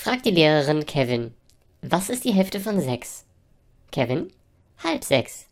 fragt die Lehrerin Kevin: Was ist die Hälfte von 6? Kevin: halb 6.